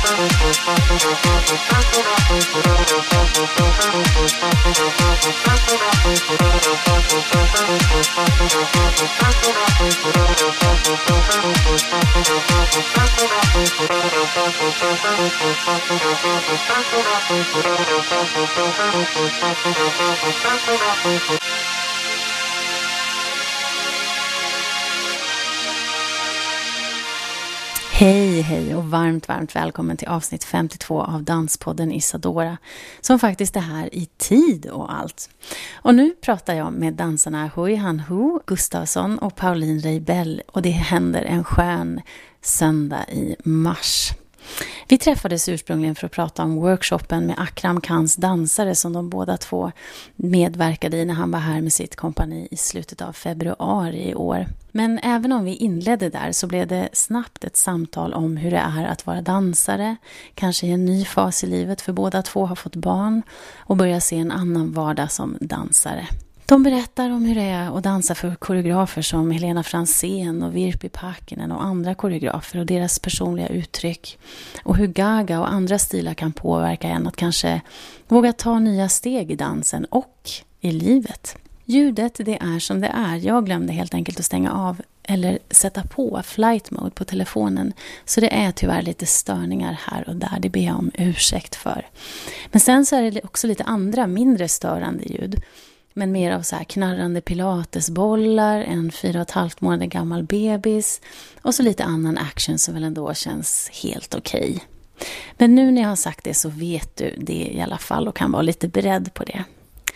Hej och varmt välkommen till avsnitt 52 av Danspodden Isadora, som faktiskt är här i tid och allt. Och nu pratar jag med dansarna Hui Han Hu Gustafsson och Pauline Reibell, och det händer en skön söndag i mars. Vi träffades ursprungligen för att prata om workshopen med Akram Khans dansare som de båda två medverkade i när han var här med sitt kompani i slutet av februari i år. Men även om vi inledde där så blev det snabbt ett samtal om hur det är att vara dansare, kanske i en ny fas i livet för båda två har fått barn och börja se en annan vardag som dansare. De berättar om hur det är att dansa för koreografer som Helena Fransén och Virpi Pakinen och andra koreografer och deras personliga uttryck. Och hur Gaga och andra stilar kan påverka en att kanske våga ta nya steg i dansen och i livet. Ljudet, det är som det är. Jag glömde helt enkelt att stänga av eller sätta på flight mode på telefonen. Så det är tyvärr lite störningar här och där. Det ber jag om ursäkt för. Men sen så är det också lite andra mindre störande ljud. Men mer av så här knarrande pilatesbollar, en 4,5 månader gammal bebis och så lite annan action som väl ändå känns helt okej. Men nu när jag har sagt det så vet du det i alla fall och kan vara lite beredd på det.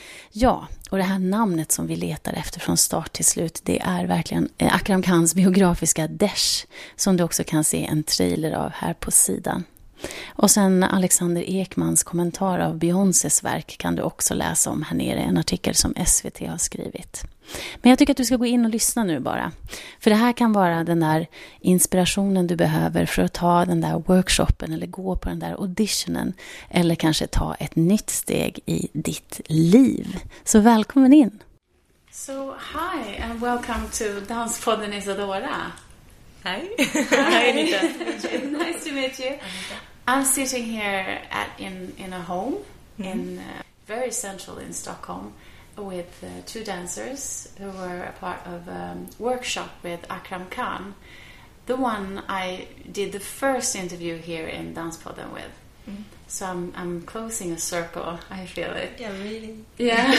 Ja, och det här namnet som vi letar efter från start till slut, det är verkligen Akram Khans biografiska Desh, som du också kan se en trailer av här på sidan. Och sen Alexander Ekmans kommentar av Beyoncés verk kan du också läsa om här nere, en artikel som SVT har skrivit. Men jag tycker att du ska gå in och lyssna nu bara. För det här kan vara den där inspirationen du behöver för att ta den där workshopen eller gå på den där auditionen eller kanske ta ett nytt steg i ditt liv. Så välkommen in! So hi and welcome to Danspodden Isadora. Hi. Hi, Anita. Nice to meet you. I'm sitting here in a home in very central in Stockholm with two dancers who were a part of a workshop with Akram Khan. The one I did the first interview here in Danspodden with. Mm. So I'm closing a circle, I feel it. Yeah, really. Yeah.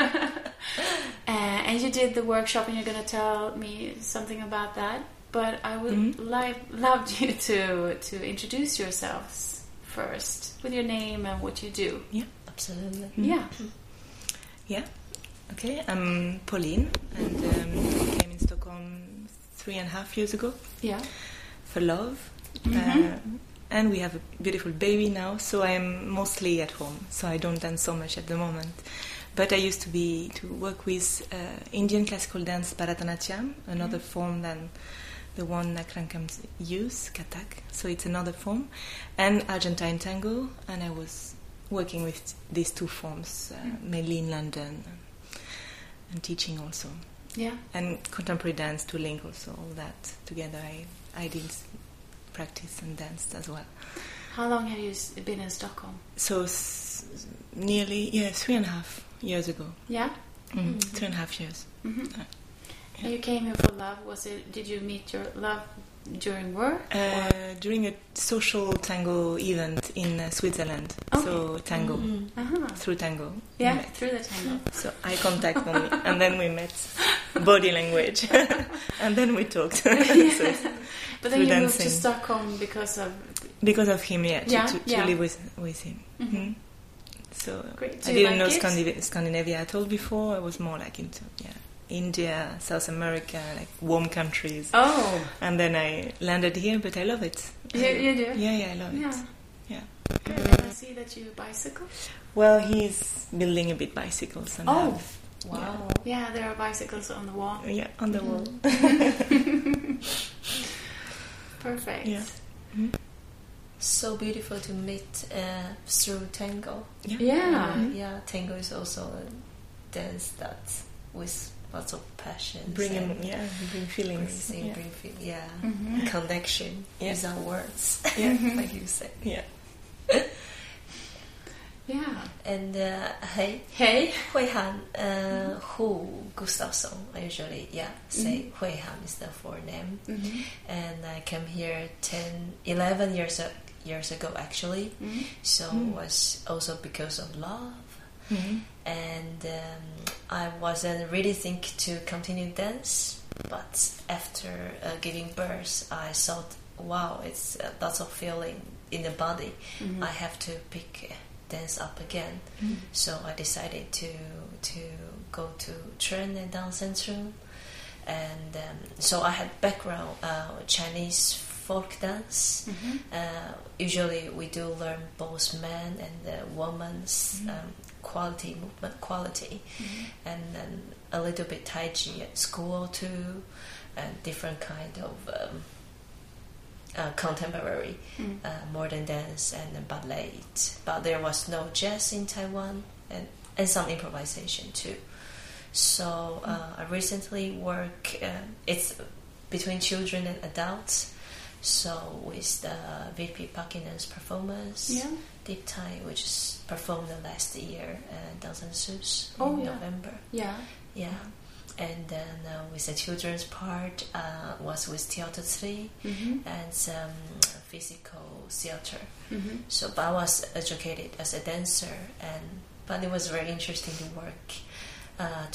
And you did the workshop and you're going to tell me something about that. But I would love you to introduce yourselves first with your name and what you do. Yeah, absolutely. Mm-hmm. Yeah. Yeah. Okay, I'm Pauline and I came in Stockholm 3.5 years ago. Yeah. For love. Mm-hmm. And we have a beautiful baby now, so I'm mostly at home. So I don't dance so much at the moment. But I used to work with Indian classical dance Bharatanatyam, another form than the one Akram Khan use, Kathak, so it's another form, and Argentine tango, and I was working with these two forms, mainly in London, and teaching also. Yeah. And contemporary dance to link also, all that together I did practice and danced as well. How long have you been in Stockholm? So nearly 3.5 years ago. Yeah? 3.5 years. Mm-hmm. And you came here for love. Did you meet your love during work? During a social tango event in Switzerland. Okay. So tango. Mm-hmm. Uh-huh. Through tango. Yeah, through the tango. So eye contact only. And then we met. Body language. And then we talked. Yeah. So but then you moved to Stockholm because of him, to live with him. Mm-hmm. So great. I didn't know Scandinavia at all before. I was more like into India, South America, like warm countries. Oh. And then I landed here, but I love it. You do? Yeah, I love it. Yeah. Good. And I see that you bicycle? Well, he's building a bit bicycles. And wow. Yeah, there are bicycles on the wall. Yeah, on the wall. Perfect. Yeah. Mm-hmm. So beautiful to meet through tango. Yeah. Tango is also a dance that with lots of passion. Bring feelings. Connection without words, like you said. Yeah. Yeah. And hey, Hui Han, Hu Gustafsson. I usually say Hui Han is the forename. And I came here 11 years ago actually. So it was also because of love. And I wasn't really think to continue dance, but after giving birth, I thought, wow, it's lots of feeling in the body. I have to pick dance up again. So I decided to go to Tren and Dance Centrum, and so I had background Chinese folk dance. Usually we do learn both men and women's movement quality, and then a little bit Tai Chi at school too, and different kind of contemporary modern dance and ballet. But there was no jazz in Taiwan, and some improvisation too. So I recently work, it's between children and adults. So with the VP Parkinnen's performance, Deep Thai, which is performed last year at Dansen Sus in November. Yeah. And then with the children's part was with Theater 3 and some physical theater. So but I was educated as a dancer, but it was very interesting to work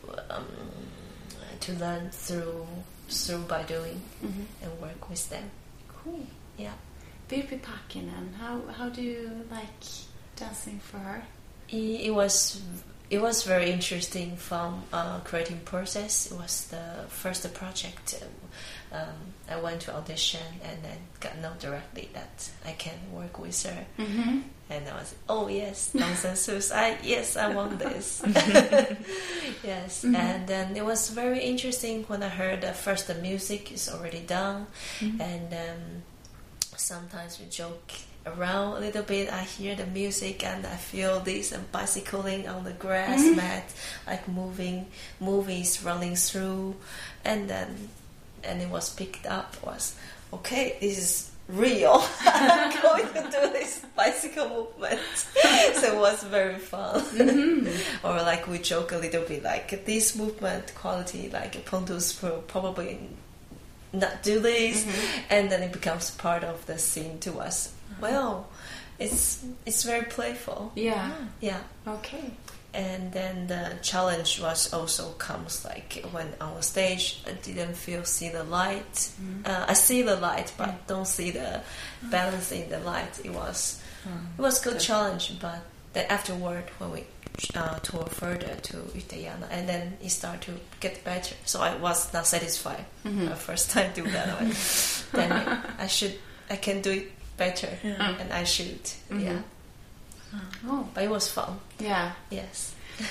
to learn through by doing and work with them. Cool. Yeah. Virpi Parkkinen, how do you like dancing for her? It was very interesting from creating process. It was the first project. I went to audition and then got known directly that I can work with her. And I was, oh yes, Dansen Sus. I want this. Yes. And then it was very interesting when I heard that first the music is already done, and sometimes we joke around a little bit. I hear the music and I feel this and bicycling on the grass mat, like movies running through, and it was picked up. Was okay. This is real. I'm going to do this bicycle movement. So it was very fun. Or like we joke a little bit, like this movement quality, like Pontus will probably not do this, and then it becomes part of the scene to us. Well, it's very playful. Yeah. Okay. And then the challenge was also comes like when on stage I didn't see the light. I see the light, but don't see the balance in the light. It was good challenge, but then afterward when we tour further to Utayana, and then it started to get better. So I was not satisfied the first time do that. Then I can do it better, and I should. Yeah. Oh, but it was fun. Yeah. Yes.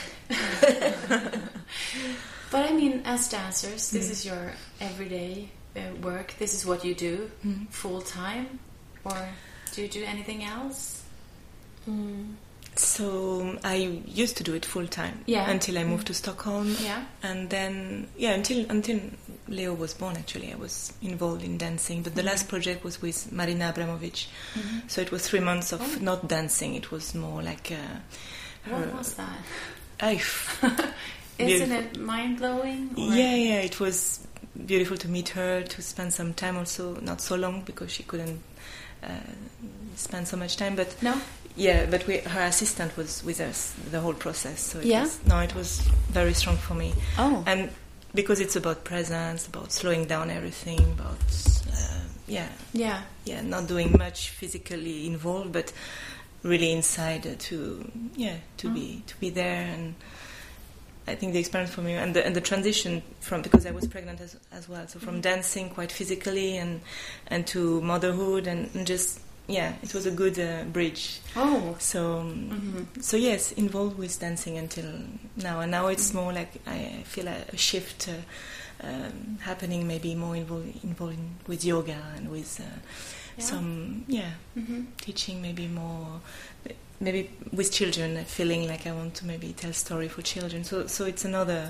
But I mean, as dancers, this is your everyday work. This is what you do full time, or do you do anything else? So I used to do it full time until I moved to Stockholm. And then until Leo was born. Actually, I was involved in dancing, but the last project was with Marina Abramovic. So it was 3 months of not dancing. It was more like what was that? Isn't it mind-blowing? Yeah, it was beautiful to meet her, to spend some time also, not so long because she couldn't spend so much time, but but her assistant was with us the whole process, so it was very strong for me. And because it's about presence, about slowing down everything, about not doing much physically involved, but really inside to be there. And I think the experience for me and the transition from, because I was pregnant as well, so from dancing quite physically and to motherhood and just it was a good bridge. So yes, involved with dancing until now, and now it's more like I feel a shift happening, maybe more involved with yoga and with some teaching maybe more, maybe with children, feeling like I want to maybe tell story for children. So it's another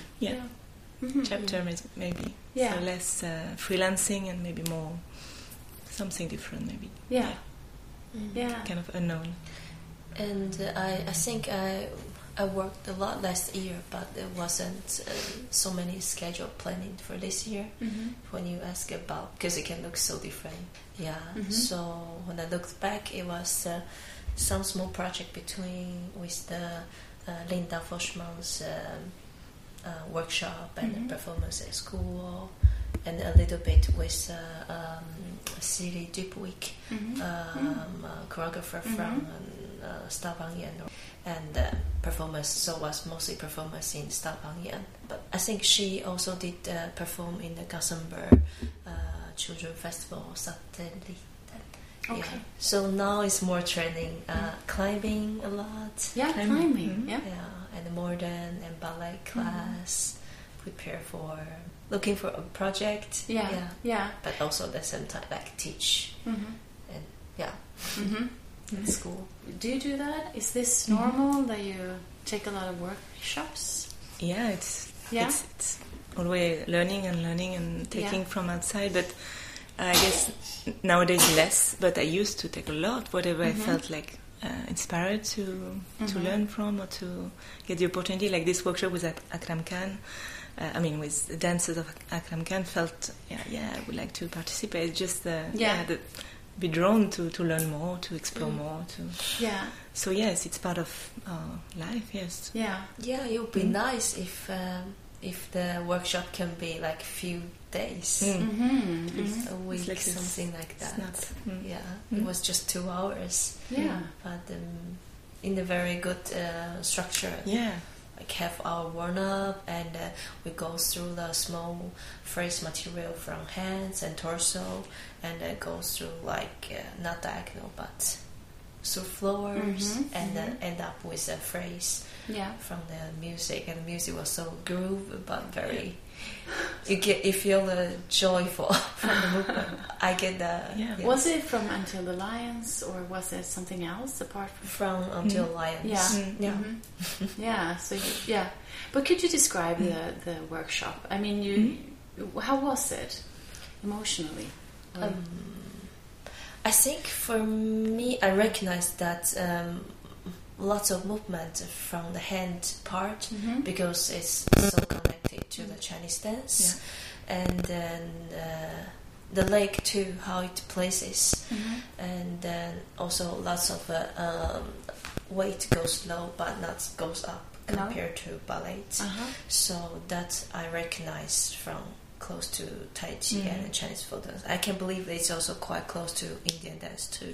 chapter, maybe. Yeah. So less freelancing and maybe more something different, maybe. Yeah. Yeah. Kind of unknown. And I think I worked a lot last year, but there wasn't so many schedule planning for this year. When you ask about, because it can look so different. Yeah. So when I looked back, it was some small project with the Linda Forsman's workshop and performance at school, and a little bit with Siri Dupuig, choreographer from Stavanger, and performance. So was mostly performance in Stavanger. But I think she also did perform in the Gothenburg Children Festival Satellite. Okay. Yeah. So now it's more training, climbing a lot. Yeah, climbing. Yeah. Yeah, and modern and ballet class. Prepare for looking for a project. Yeah. But also at the same time, like teach and in school. Do you do that? Is this normal that you take a lot of workshops? Yeah, it's always learning and taking from outside, but I guess nowadays less, but I used to take a lot, whatever I felt like inspired to learn from or to get the opportunity. Like this workshop was at Akram Khan. With the dancers of Akram Khan, felt, I would like to participate. Just be drawn to learn more, to explore more. So yes, it's part of our life. Yes. Yeah. Yeah, it would be nice if the workshop can be like few days, a week, like something like that. It was just 2 hours. Yeah. But in a very good structure. Yeah. Like have our warm up, and we go through the small phrase material from hands and torso, and then goes through like not diagonal but through floors, and then end up with a phrase from the music. And the music was so groove, but very you feel the joyful from the movement. I get the Was it from Until the Lions, or was it something else apart from Until Lions? So but could you describe the workshop? I mean, how was it emotionally? I think for me, I recognized that lots of movement from the hand part, because it's so connected to the Chinese dance, and then the leg too, how it places, and then also lots of weight goes low but not goes up compared to ballet. So that I recognize from close to Tai Chi and Chinese folk dance. I can believe it's also quite close to Indian dance too.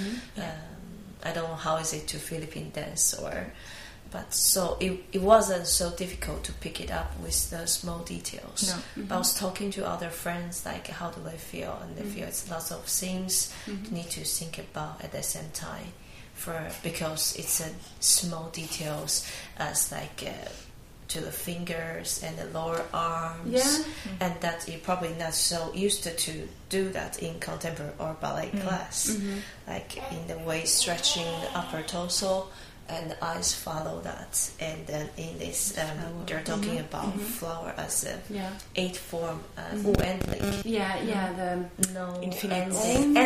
I don't know how is it to Philippine dance, but so it wasn't so difficult to pick it up with the small details. But I was talking to other friends, like how do they feel, and they feel it's lots of things you need to think about at the same time, because it's a small details as like to the fingers and the lower arms, and that you're probably not so used to do that in contemporary or ballet class, like in the way stretching the upper torso, and the eyes follow that. And then in this they're talking about flower as a 8 form, oändlig, the infinite,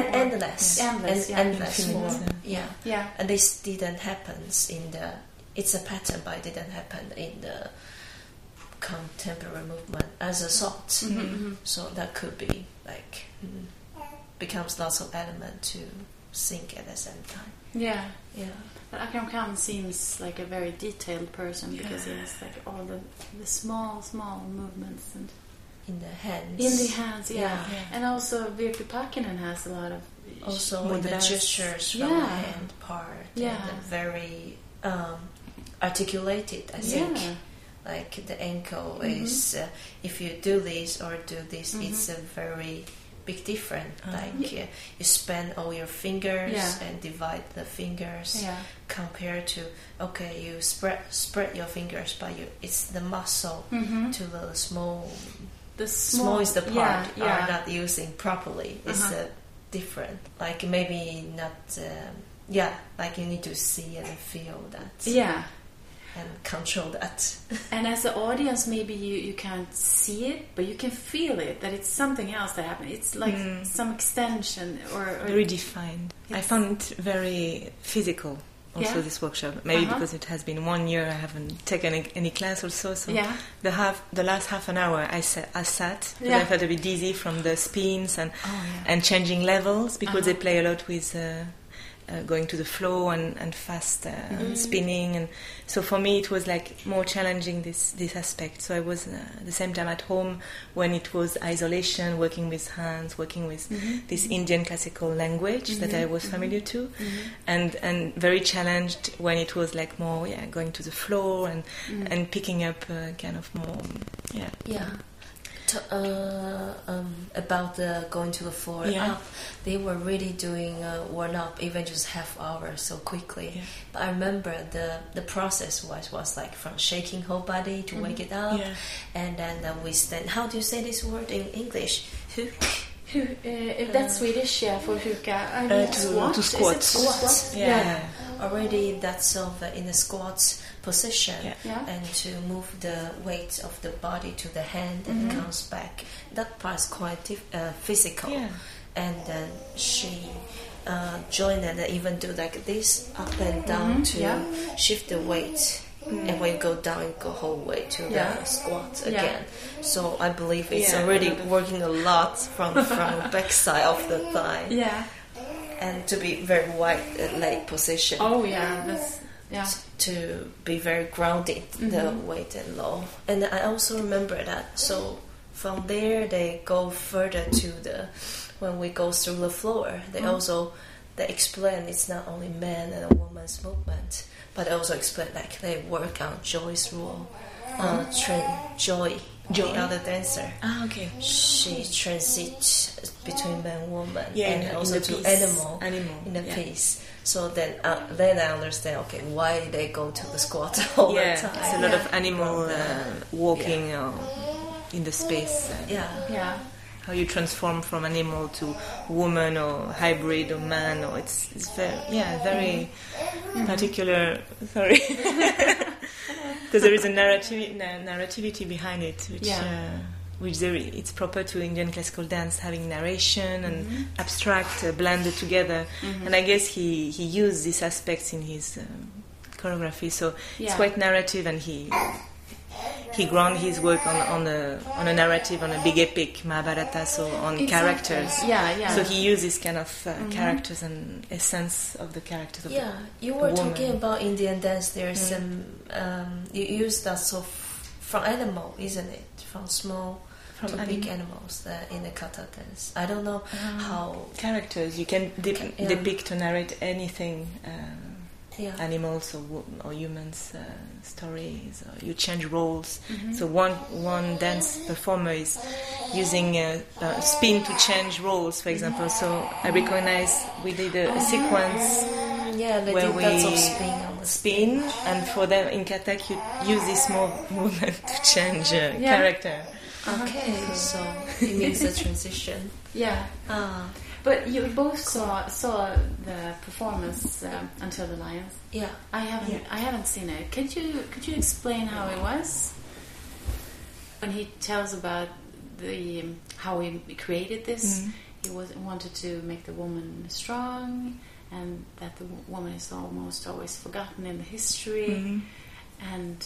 endless form. And this didn't happen in the. It's a pattern, but it didn't happen in the contemporary movement as a thought. So that could be like becomes lots of element to think at the same time. But Akram Khan seems like a very detailed person, because he has like all the small movements and in the hands. In the hands, and also Virpi Pakinen has a lot of also in the gestures from the hand part. And very articulated, I think. Like the ankle is if you do this or do this, it's a very big difference. Like you span all your fingers and divide the fingers compared to you spread your fingers, but it's the muscle to the small. The small is the part are not using properly. It's different. Like maybe not. Like you need to see and feel that. Yeah. And control that. And as an audience, maybe you can't see it, but you can feel it, that it's something else that happened. It's like some extension or very defined. I found it very physical also, this workshop. Maybe because it has been 1 year, I haven't taken any class also. So the last half an hour I sat because I felt a bit dizzy from the spins and changing levels, because they play a lot with going to the flow and fast spinning, and so for me it was like more challenging this aspect. So I was at the same time at home when it was isolation, working with hands, working with this Indian classical language that I was familiar to, and very challenged when it was like more going to the floor and picking up kind of more about the going to the floor up, they were really doing warm up even just half hour so quickly. But I remember the process was like from shaking whole body to wake it up, and then we stand. How do you say this word in English? If that's Swedish, for huka, to squat. Squat. Already that's in the squat position, and to move the weight of the body to the hand and comes back. That part is quite physical. And then she joined and even do like this up and down to shift the weight. And when you go down, you go whole way to the squat again. So I believe it's already working a lot from the back side of the thigh. And to be very wide leg position. To be very grounded, the weight and low. And I also remember that. So from there, they go further to when we go through the floor, they explain it's not only man and a woman's movement, but also explain like they work on Joy's rule. Joy, the other dancer. She transits between man and woman, and also to animal in the piece. So then I understand, why they go to the squat all the time. It's a lot of animal walking in the space. How you transform from animal to woman or hybrid or man, or it's very particular. Sorry, because there is a narrativity behind it, which it's proper to Indian classical dance, having narration and abstract blended together. And I guess he used these aspects in his choreography, so it's quite narrative, and he ground his work on a narrative, on a big epic, Mahabharata, so on characters. So he uses kind of characters and essence of the characters of you were talking about Indian dance. There's some you use that from animal, isn't it? From small to big animals in the kata dance. I don't know how characters you can depict or narrate anything. Animals or humans' stories, or you change roles. So one dance performer is using a spin to change roles, for example. So I recognize we did a sequence where we spin, and for them in Kathak you use this movement to change character. So it means a transition. But you both saw the performance Until the Lions. I haven't seen it. Could you explain how it was when he tells about how he created this? He wanted to make the woman strong, and that the woman is almost always forgotten in the history. And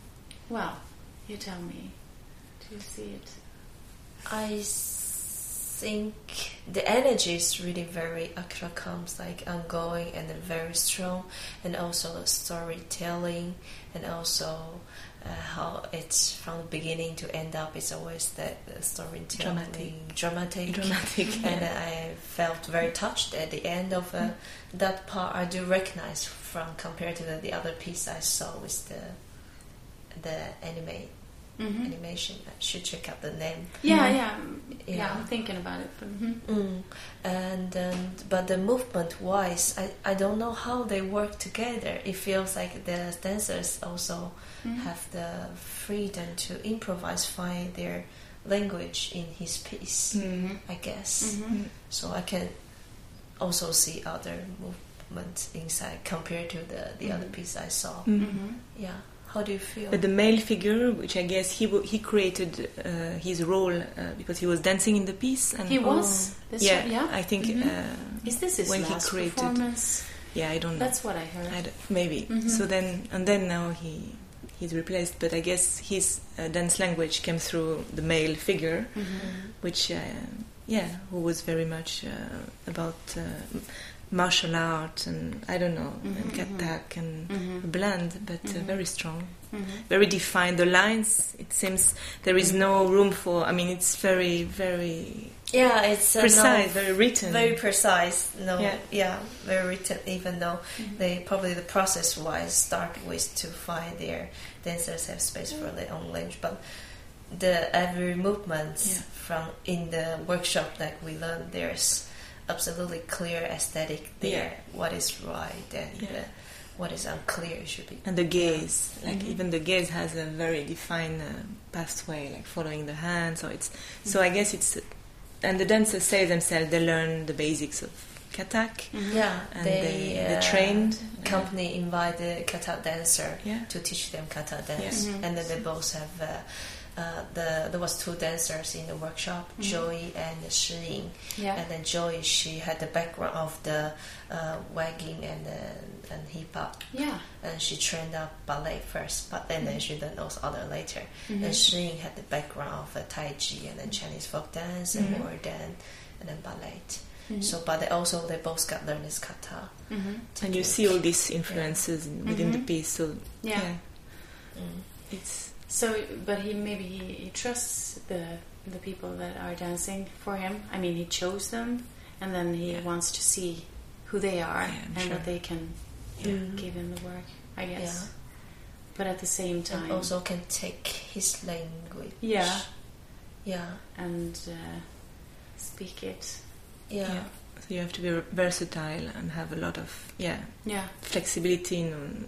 you tell me. Do you see it? I think the energy is really very Akra comes like ongoing and very strong, and also the storytelling, and also how it's from beginning to end up. It's always the storytelling, dramatic. And I felt very touched at the end of that part. I do recognize from compared to the other piece I saw with the animation. I should check out the name. I'm thinking about it. And but the movement wise, I don't know how they work together. It feels like the dancers also have the freedom to improvise, find their language in his piece, I guess. So I can also see other movements inside compared to the other piece I saw. Yeah. How do you feel? But the male figure, which I guess he created his role because he was dancing in the piece. And he was. Yeah, I think. Is this his when last he created, performance? Yeah, I don't know. That's what I heard. Maybe. So then now he's replaced. But I guess his dance language came through the male figure, which who was very much about martial art and I don't know, and katak and blend, but very strong, very defined. The lines, it seems there is no room for. I mean, it's very, very it's precise, very written, very precise. Very written. Even though they probably the process-wise start with to find their dancers have space for their own language, but the every movement from in the workshop that we learned, there's absolutely clear aesthetic there. What is right and what is unclear should be. And the gaze, even the gaze has a very defined pathway, like following the hand. So it's so I guess it's, and the dancers say themselves they learn the basics of katak. And they trained. Company invited the katak dancer to teach them katak dance, and then they both have. There was two dancers in the workshop, Joy and Shi Ying. And then Joy, she had the background of the wagging and hip hop. And she trained up ballet first, but then she did those other later. And Shi Ying had the background of Tai Chi and then Chinese folk dance and modern and then ballet. So, but they both got learned this kata. And you see all these influences within the piece. So it's. So, but he trusts the people that are dancing for him. I mean, he chose them, and then he wants to see who they are and that they can give him the work, I guess. But at the same time, and also can take his language. And speak it. So you have to be versatile and have a lot of flexibility in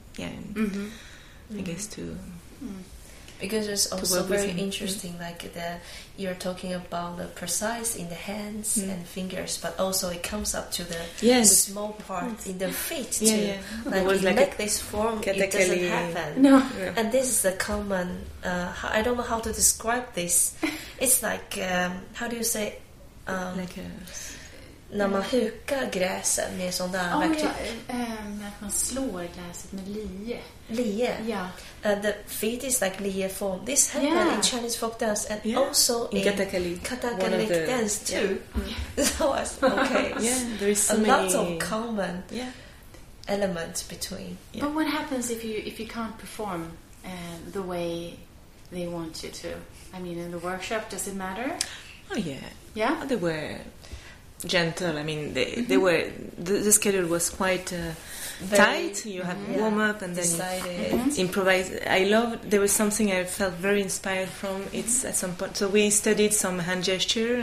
I guess to. Because it's also very interesting, like you're talking about the precise in the hands and fingers, but also it comes up to the small part in the feet too. Like make this form, it doesn't happen. No. And this is a common. I don't know how to describe this. It's like how do you say? Like a. När man hukar gräset med sån där att man slår gräset med lie. The feet is like lie form. This happened in Chinese folk dance and also in Katakali dance too. So there is so lots of common elements between. But what happens if you can't perform the way they want you to? I mean, in the workshop, does it matter? Oh yeah. They were gentle. I mean, they were. The schedule was quite tight. You have warm up and then you improvise. I loved. There was something I felt very inspired from. It's at some point. So we studied some hand gesture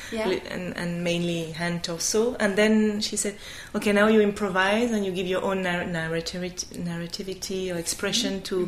and mainly hand torso. And then she said, "Okay, now you improvise and you give your own narrativity or expression to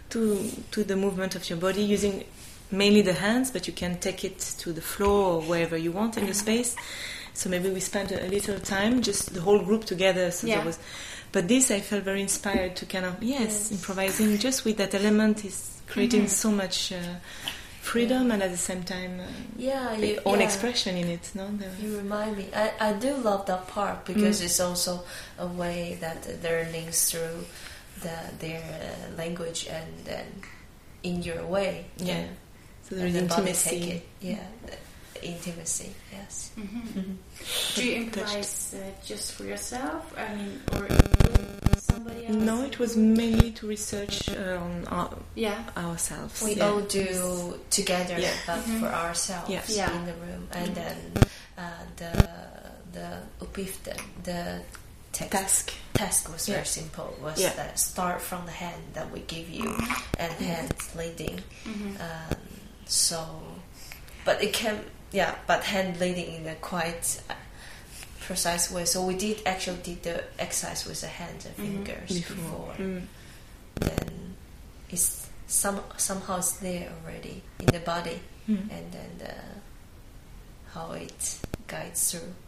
the movement of your body using mainly the hands, but you can take it to the floor or wherever you want in the space." So maybe we spent a little time, just the whole group together. So there was, but this I felt very inspired to kind of improvising just with that element is creating so much freedom and at the same time own expression in it. No, you remind me. I do love that part because it's also a way that they're learning through their language and then in your way. So there is intimacy. Intimacy, yes. Do you improvise just for yourself? I mean, or somebody else? No, it was mainly to research on ourselves. We all do together, but for ourselves in the room. And then the uppgiften, the task was very simple. Was that start from the hand that we give you and hand leading. But it can. But hand leading in a quite precise way. So we did the exercise with the hands and fingers before. Then it's somehow it's there already in the body, and then how it guides through.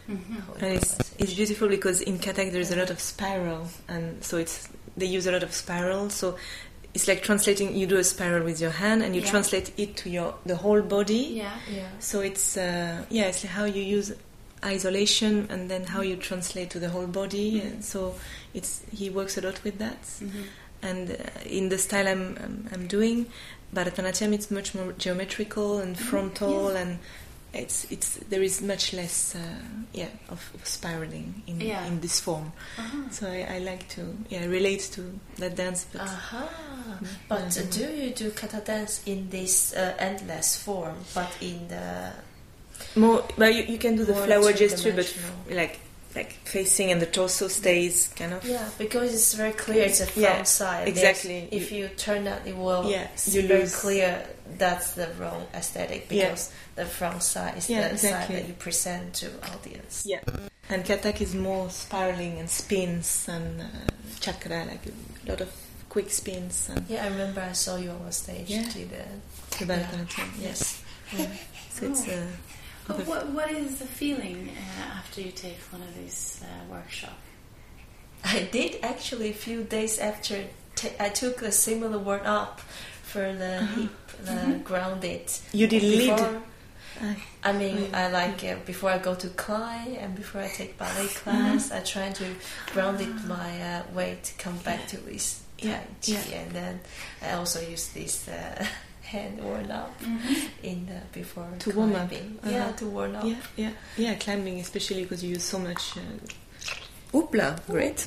And it's beautiful because in Kathak there is a lot of spiral, and so they use a lot of spiral. So it's like translating. You do a spiral with your hand, and you translate it to the whole body. Yeah. So it's it's like how you use isolation, and then how you translate to the whole body. And so he works a lot with that. And in the style I'm doing, Bharatanatyam, it's much more geometrical and frontal, and there is much less of spiraling in this form. So I like to relate to that dance. But do you do kata dance in this endless form, but in the more? But you can do the flower gesture, but like facing, and the torso stays kind of. Yeah, because it's very clear. It's a front side. Exactly. If you turn that, it will. You very lose. Clear. That's the wrong aesthetic, because the front side is the side that you present to audience. Yeah. And Kathak is more spiraling and spins and chakra, like a lot of quick spins. And I remember I saw you on stage to the Bharatanatyam. Yes. So it's. What is the feeling after you take one of these workshops? I did actually a few days after I took a similar work-up for the hip, the grounded. You did lead? I mean, I like before I go to Klai and before I take ballet class, I try to ground it my weight, come back to this Tai Chi, and then I also use this hand warm up in the before to climbing. warm up. To warm up. Climbing, especially because you use so much. Oopla, great.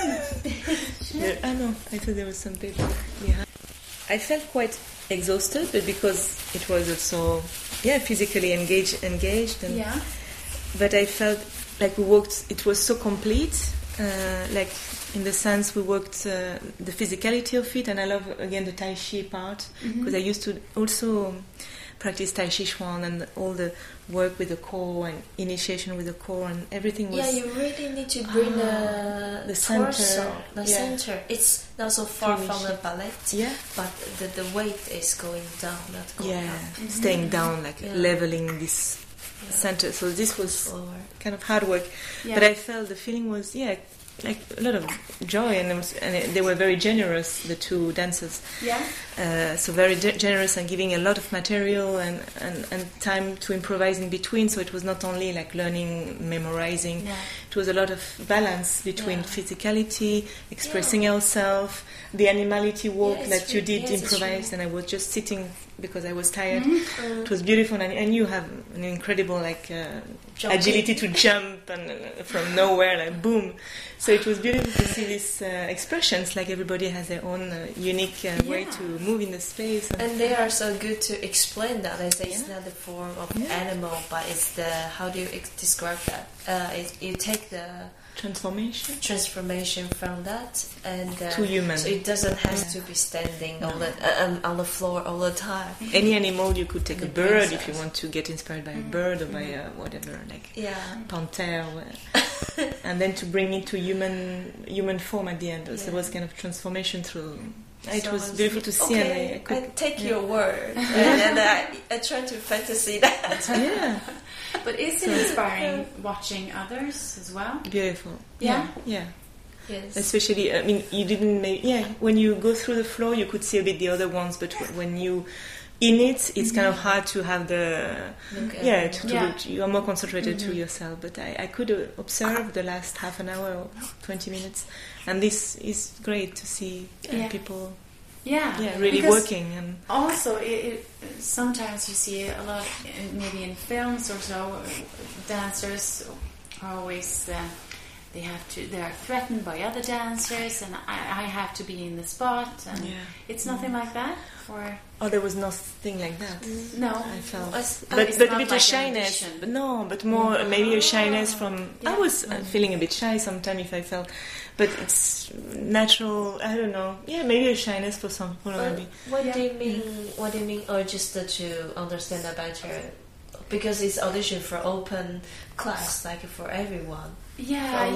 I know. I thought there was some paper behind. I felt quite exhausted, but because it was also physically engaged, and but I felt like we worked. It was so complete, like in the sense we worked the physicality of it, and I love again the Tai Chi part, because I used to also practice Tai Chi Chuan and all the work with the core and initiation with the core, and everything was. Yeah, you really need to bring the center. Center. It's not so far from the ballet, but the weight is going down, not going up. Staying down, like leveling this center. So this was kind of hard work, but I felt the feeling was like a lot of joy, and they were very generous, the two dancers. So very generous, and giving a lot of material and time to improvise in between. So it was not only like learning, memorizing. It was a lot of balance between physicality, expressing ourselves, the animality walk that you did improvise, and I was just sitting because I was tired. It was beautiful, and you have an incredible agility to jump and from nowhere, like boom. So it was beautiful to see these expressions, like everybody has their own unique way to move in the space. And they are so good to explain that. They say it's not the form of animal, but it's the, how do you describe that? You take the transformation from that and to human. So it doesn't have to be standing on the floor all the time. Any animal, you could take a bird if you want to get inspired by a bird or by whatever, like panther, and then to bring it to human form at the end. So it was kind of transformation through. It was beautiful to see. Okay, and I take your word, and I try to fantasy that. But is it inspiring watching others as well? Beautiful. Yeah. Yes. Especially, I mean, you didn't. When you go through the floor, you could see a bit the other ones, but when you in it, it's kind of hard to have the you are more concentrated to yourself. But I could observe the last half an hour or 20 minutes, and this is great to see people. Really working. And also, sometimes you see a lot, maybe in films or so, dancers are always they are threatened by other dancers, and I have to be in the spot. And it's nothing like that, or there was nothing like that. No, I felt, but a bit of shyness. But more maybe a shyness from. I was feeling a bit shy sometimes if I felt. But it's natural. I don't know. Maybe a shyness for some people. Maybe. What do you mean? What do you mean? Or just to understand that better, because it's audition for open class, like for everyone. But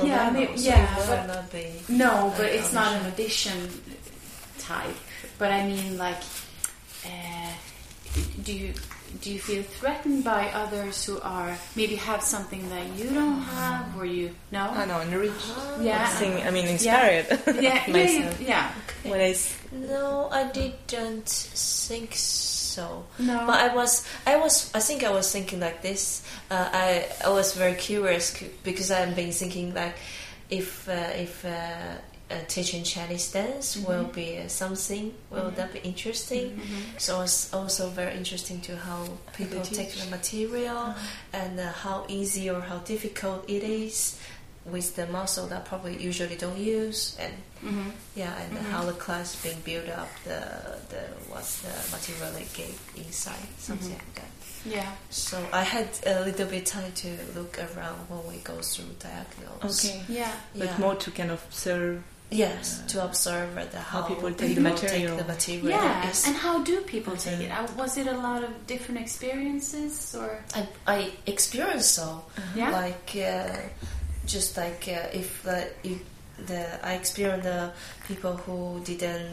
it's not an audition type. But I mean, like, do do you feel threatened by others who are maybe have something that you don't have, or you no? I know, enriched. Inspired. Myself. No, I didn't think so. No, but I think I was thinking like this. I was very curious because I've been thinking like if teaching Chinese dance will be something, will that be interesting? So it's also very interesting to how people take the material and how easy or how difficult it is with the muscle that probably usually don't use, and how the class being built up, what's the material they gave inside, something like that. Yeah. So I had a little bit time to look around when we go through diagonals. Okay. Yeah. But more to kind of observe. Yes, to observe how people take the material. Yes, and how do people take it? Was it a lot of different experiences, or I experienced so. Like just like if I experienced the people who didn't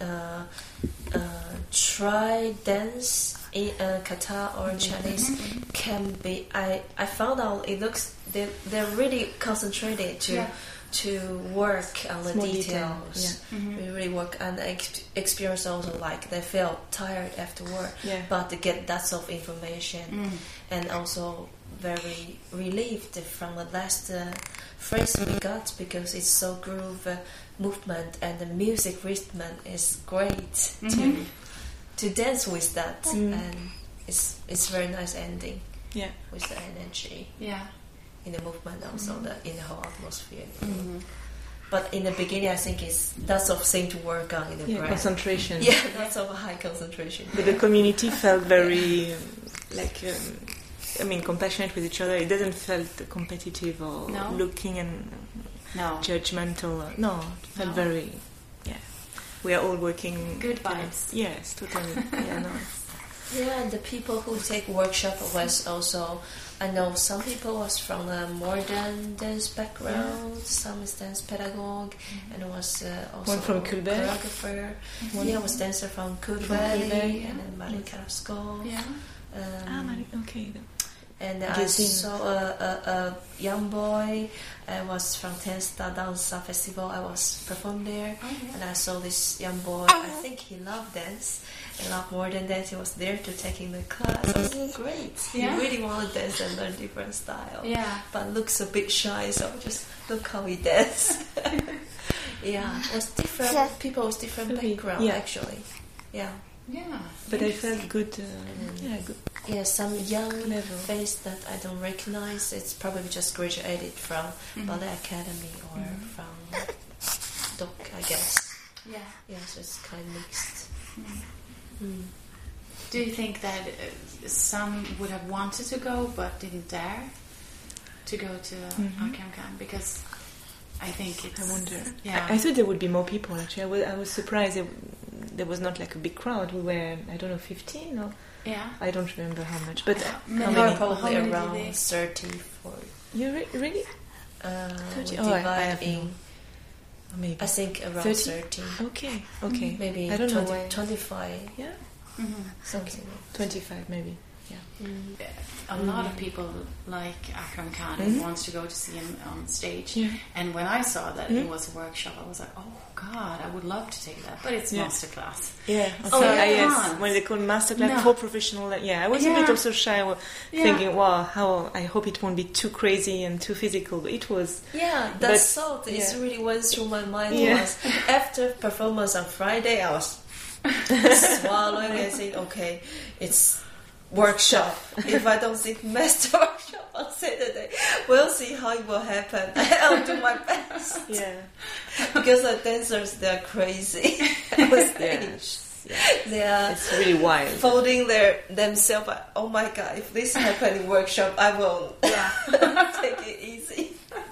try dance in kata or Chinese can be. I found out it looks they're really concentrated to work on the details. We really work, and I experience also like they felt tired afterward, but to get that sort of information, and also very relieved from the last phrase we got, because it's so groove movement and the music rhythm is great to dance with that, and it's very nice ending with the energy. In the movement, also in the whole atmosphere. But in the beginning, I think it's that sort of thing to work on in the brain. Concentration. Yeah, that's of a high concentration. But the community felt very compassionate with each other. It doesn't felt competitive or looking and judgmental. No, it felt very. We are all working. Good vibes. Yes, totally. Yeah, and the people who take workshop was also, I know some people was from a modern dance background, some is dance pedagogue, and was also one from Kulberg, choreographer. Was dancer from Kulberg, and then Malin Carrasco. And I saw a young boy. I was from Tensta Dansa Festival. I was performed there, and I saw this young boy. I think he loved dance. A lot more than that, he was there to taking the class. It was great. He really wanted to dance and learn different style. But looks a bit shy, so just look how he dances. It was different people with different background actually. But I felt good. Good. Yeah, some young face that I don't recognize. It's probably just graduated from Ballet Academy or from DOC, I guess. So it's kind of mixed. Do you think that some would have wanted to go but didn't dare to go to Akamkan? Because I think it's... I wonder. I thought there would be more people, actually. I was surprised there was not like a big crowd. We were, I don't know, 15 or... I don't remember how much. But how many? Probably around 30, 40. You really? 30? Dividing... Maybe. I think around 30. Okay. Maybe I don't 20, know 25. Yeah. Something. 25 maybe. A lot of people like Akram Khan and wants to go to see him on stage. And when I saw that it was a workshop, I was like, oh God, I would love to take that. But it's masterclass. Yes. When they call masterclass for professional, I was a bit also shy, thinking, wow, how I hope it won't be too crazy and too physical. But it was. That thought is really went through my mind. Was after performance on Friday, I was swallowing and saying, okay, it's workshop. If I don't think master workshop on Saturday, we'll see how it will happen. I'll do my best. Because the dancers, they're crazy on stage. They are it's really wild. Folding themselves. Oh my God! If this happens in workshop, I will take it easy.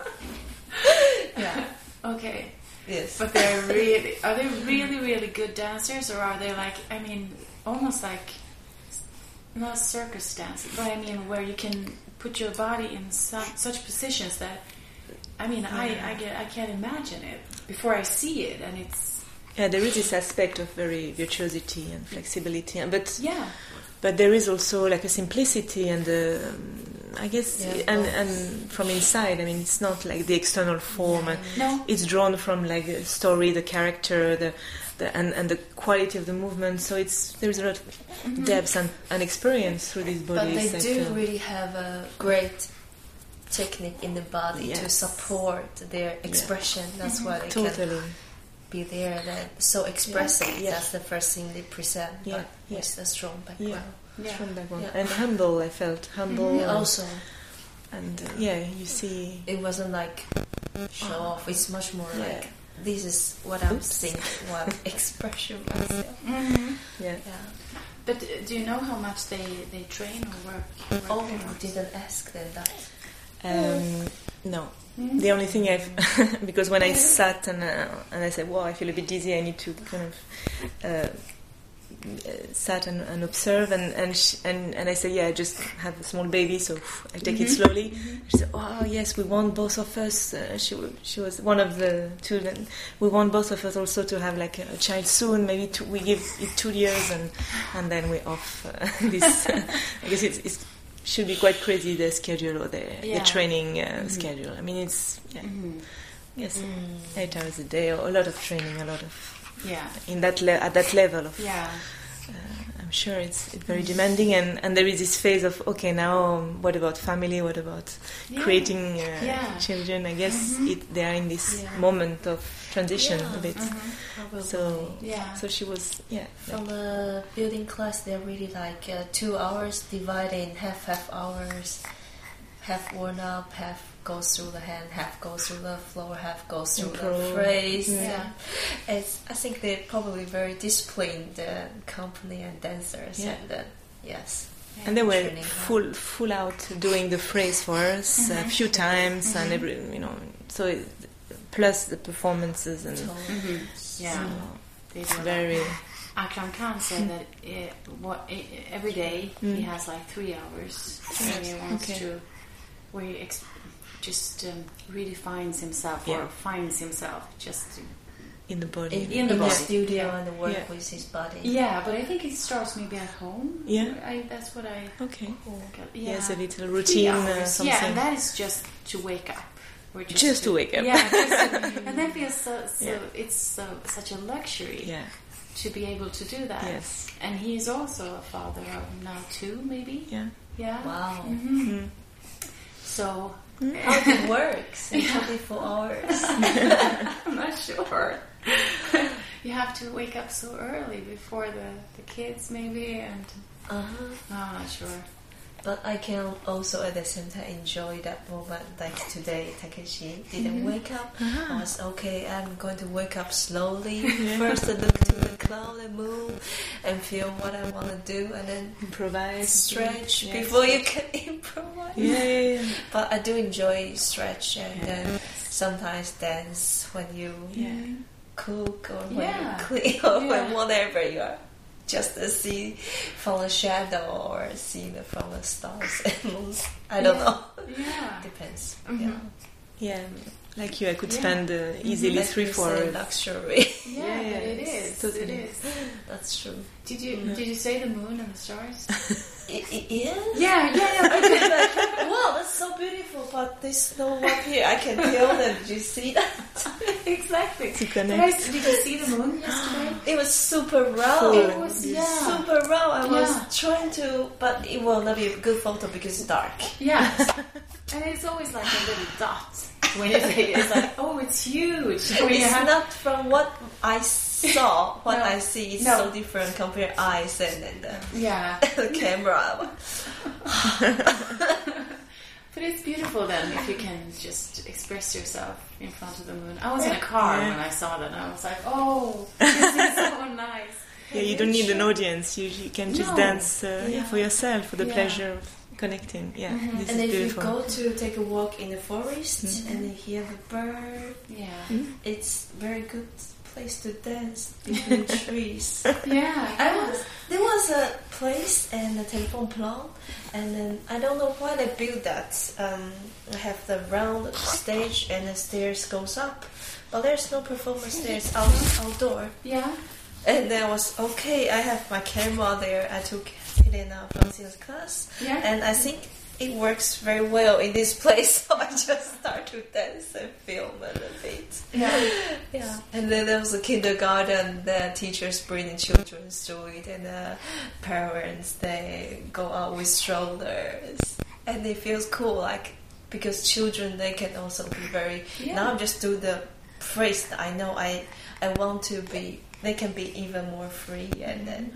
Okay. Yes. But are they really, really good dancers, or are they almost like not circus dancing, but where you can put your body in such positions that I can't imagine it before I see it, and it's Yeah, there is this aspect of very virtuosity and flexibility, but Yeah. but there is also like a simplicity and I guess and from inside. I mean, it's not like the external form. And No. it's drawn from like the story, the character, and the quality of the movement. So there's a lot of depth and experience through these But bodies. they do really have a great technique in the body to Yes. support their expression. That's why they can totally. be there and so expressive. Yeah. That's the first thing they present, Yeah. but with a strong background. Yeah. Strong background. Yeah. And humble. I felt humble. Also, And you see. it wasn't like show off. It's much more Yeah. like this is what I'm Oops. thinking, what expression myself. Yeah. Yeah. But do you know how much they train or work? Oh, I didn't ask them that. No. The only thing because when I sat and I said, "Wow, I feel a bit dizzy. I need to kind of sat and observe." And I said, "Yeah, I just have a small baby, so I take it slowly." She said, "Oh, yes, we want both of us." She was one of the two. Then we want both of us also to have like a child soon. Maybe we give it 2 years, and then we're off. This I guess it's should be quite crazy, the schedule or the training schedule. I mean, it's yes, 8 hours a day, or a lot of training, a lot of in that at that level of. I'm sure it's very demanding, and there is this phase of okay, now what about family? What about creating children? I guess they are in this moment of transition a bit. So she was From a building class, they're really like 2 hours divided in half hours, half worn up, half goes through the hand, half goes through the floor, half goes through the phrase. I think they're probably very disciplined company and dancers, and yes. And they were full out doing the phrase for us a few times, and every so plus the performances and it's very. Akram Khan said that every day he has like 3 hours where he wants to, where he just redefines himself or finds himself just in the body, in the studio and work with his body. Yeah, but I think it starts maybe at home. Yeah, that's what I. Okay. Yeah, yes, a little routine. Something. Yeah, and that is just to wake up. Or just to wake up. Yeah, and that feels it's such a luxury. Yeah. To be able to do that. Yes. And he's also a father of now 2, maybe. Yeah. Yeah. Wow. So. How it works in 24 hours? I'm not sure. You have to wake up so early before the kids, maybe, and no, I'm not sure. But I can also at the same time enjoy that moment. Like today, Takeshi didn't wake up. I was okay. I'm going to wake up slowly. First, I look to the cloud and move and feel what I want to do, and then improvise, stretch before you can improvise. Yeah. But I do enjoy stretch and then sometimes dance when you cook or when you clean or when whatever you are. Just to see from the shadow or see from the stars and moons. I don't know. Yeah. Depends. Yeah. Like you, I could spend easily 3-4 luxury. Yeah, it is. Totally. It is. That's true. Did you say the moon and the stars? Yeah. Yeah. Wow, that's so beautiful. But there's no one here. I can tell them. Did you see that? Exactly. To connect. Did you see the moon yesterday? It was super round. It was super round. I was trying to, but it will not be a good photo because it's dark. Yeah. And it's always like a little dot. When it's like, oh, it's huge. It's not from what I saw. What I see is so different compared to eyes and the camera. But it's beautiful then if you can just express yourself in front of the moon. I was in a car when I saw that and I was like, oh, this is so nice. Yeah, you don't need an audience. You can just dance for yourself, for the pleasure of connecting. Yeah, this and is if beautiful. you go to take a walk in the forest and you hear the bird, it's very good place to dance between trees. Yeah. There was a place and a telephone plant, and then I don't know why they built that. I have the round stage and the stairs goes up, but there's no performance stairs outdoor. Yeah. And then I was okay. I have my camera there. I took Helena Francina's class, and I think it works very well in this place. So I just start to dance and film a little bit. Yeah. And then there was a kindergarten. The teachers bring the children to it, and the parents they go out with strollers, and it feels cool. Like because children they can also be very. Now I just do the phrase that I know I want to be. They can be even more free, and then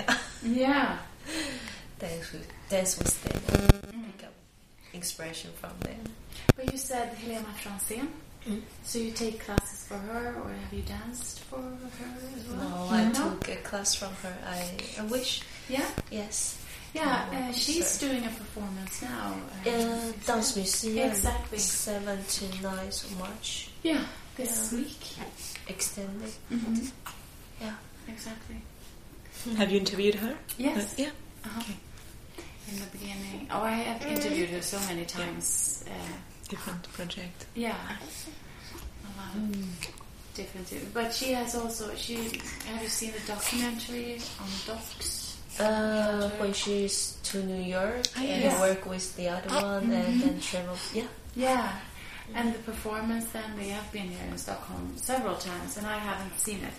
dance with them, pick up inspiration from them. But you said Helena Franzén, so you take classes for her, or have you danced for her as well? No, I took a class from her. I wish. Yeah. Yes. Yeah, she's doing a performance now. Dance Museum. Exactly. 7 to 9 of March. Yeah, this week. Extended. Mm-hmm. Yeah, exactly. Have you interviewed her? Yes. Yeah. Okay. In the beginning. Oh, I have interviewed her so many times. Different project. Yeah. A lot of different. But she has also. Have you seen the documentary on Docs? When she's to New York and work with the other one and then travel. Yeah. Yeah. And the performance. Then they have been here in Stockholm several times, and I haven't seen it.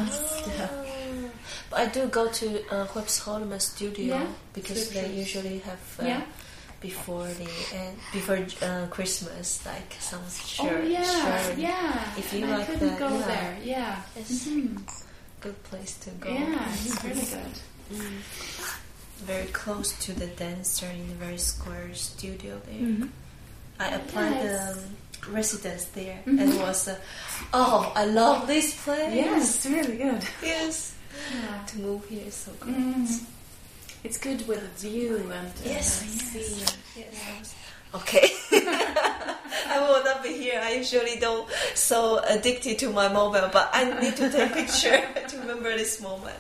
But I do go to Skeppsholmen studio because they usually have before Christmas like some shirt. If you like that, go there. Yeah, it's good place to go. Yeah, it's really good. Very close to the dancer in the very square studio there. I applied residence there and it was I love this place. Yes, it's really good. Yes. To move here is so great. It's good with a view and see. Yes. Okay. I will not be here. I usually don't so addicted to my mobile, but I need to take a picture to remember this moment.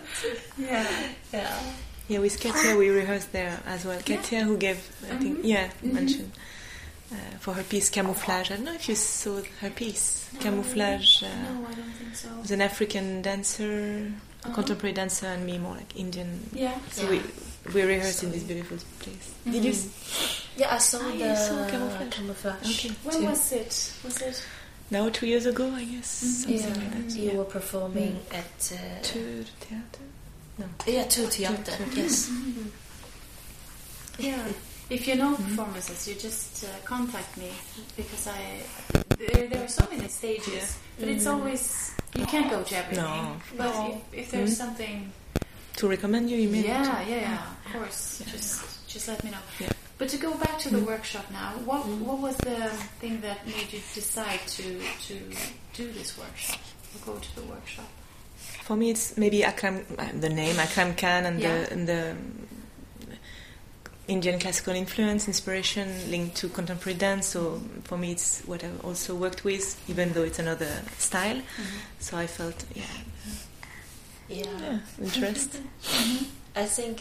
Yeah, with Katia we rehearsed there as well. Katia who gave I think mentioned for her piece Camouflage. I don't know if you saw her piece. Camouflage. No, I don't think so. Was an African dancer, a contemporary dancer, and me more like Indian. Yeah. So we rehearsed in this beautiful place. Did you? Yeah, I saw the Camouflage. Okay. When was it? Was it? Now 2 years ago, I guess. Something like that. You were performing at Tur Theater. No. Yeah, Tur Theater. Yes. Yeah. If you know performances, you just contact me because there are so many stages, but it's always you can't go to everything. No. But if there's something to recommend you, email. Yeah, of course. Yeah. Just let me know. Yeah. But to go back to the workshop now, what was the thing that made you decide to do this workshop or go to the workshop? For me, it's maybe Akram, the name Akram Khan and the Indian classical influence, inspiration linked to contemporary dance. So for me, it's what I also worked with, even though it's another style. So I felt, interest. I think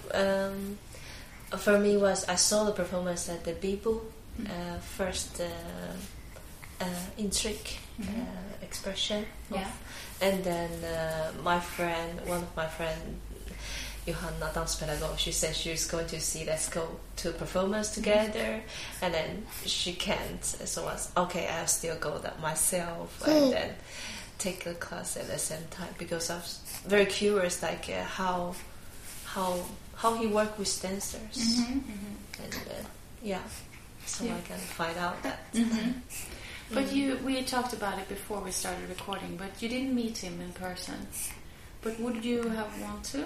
for me was I saw the performance at the Bibu first intrigue expression, and then one of my friends. Johanna Danspedagog, she said she was going to see let's go to a performance together, and then she can't, so I was okay, I'll still go that myself and then take a class at the same time because I was very curious like how he worked with dancers and so I can find out that. But we talked about it before we started recording, but you didn't meet him in person, but would you have wanted to?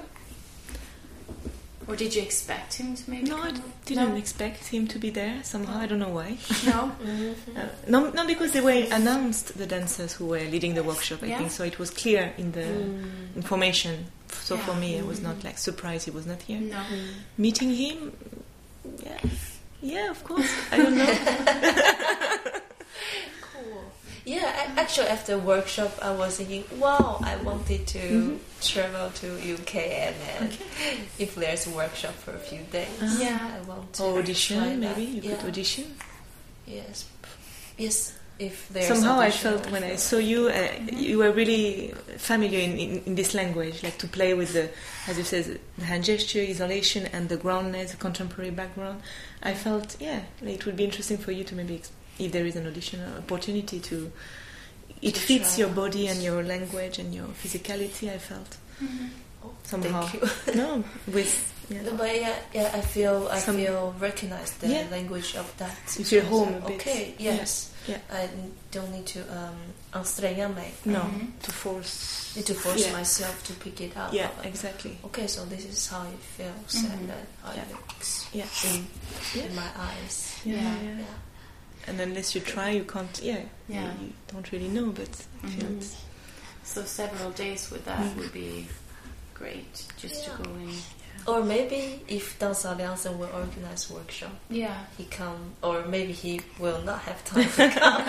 Or did you expect him to maybe? No, I didn't expect him to be there somehow. I don't know why. No? No, because they were announced, the dancers who were leading the workshop, I think, so it was clear in the information. So for me, I was not like surprised he was not here. No. Meeting him, yeah, of course. I don't know. Cool. Actually, after workshop, I was thinking, wow, I wanted to travel to UK, and then if there's a workshop for a few days, I want to audition. Maybe you could audition. Yes. If there's somehow audition, I felt when I saw you, you were really familiar in this language, like to play with the, as you said, the hand gesture, isolation, and the groundness, the contemporary background. I felt, it would be interesting for you to maybe, if there is an audition opportunity to fits your body and your language and your physicality. I felt somehow. Thank you. No, with. No, but I feel recognized the language of that. It's your home a bit. Okay, yes. Yeah. I don't need to anstränga mig. No, to force. Need to force myself to pick it up. Yeah, exactly. Okay, so this is how it feels and then how it looks in my eyes. Yeah. And unless you try, you can't. You don't really know, but so several days with that would be great, just to go in. Or maybe if Dansalliansen will organize workshop, he come, or maybe he will not have time to come.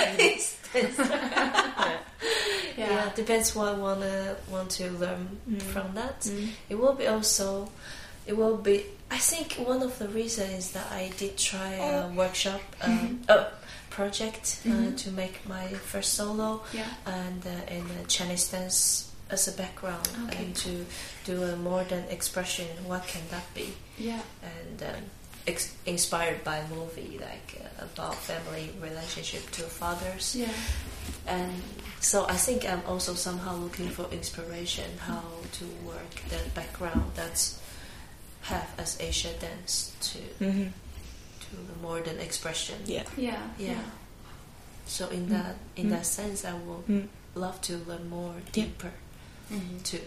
Depends what I want to learn from that. It will be. I think one of the reasons is that I did try a workshop, project to make my first solo, and in Chinese dance as a background, and to do a modern expression. What can that be? And inspired by a movie like about family relationship to fathers. And so I think I'm also somehow looking for inspiration how to work the background that's have as Asia dance to the modern expression. So in that sense, I will love to learn more deeper too.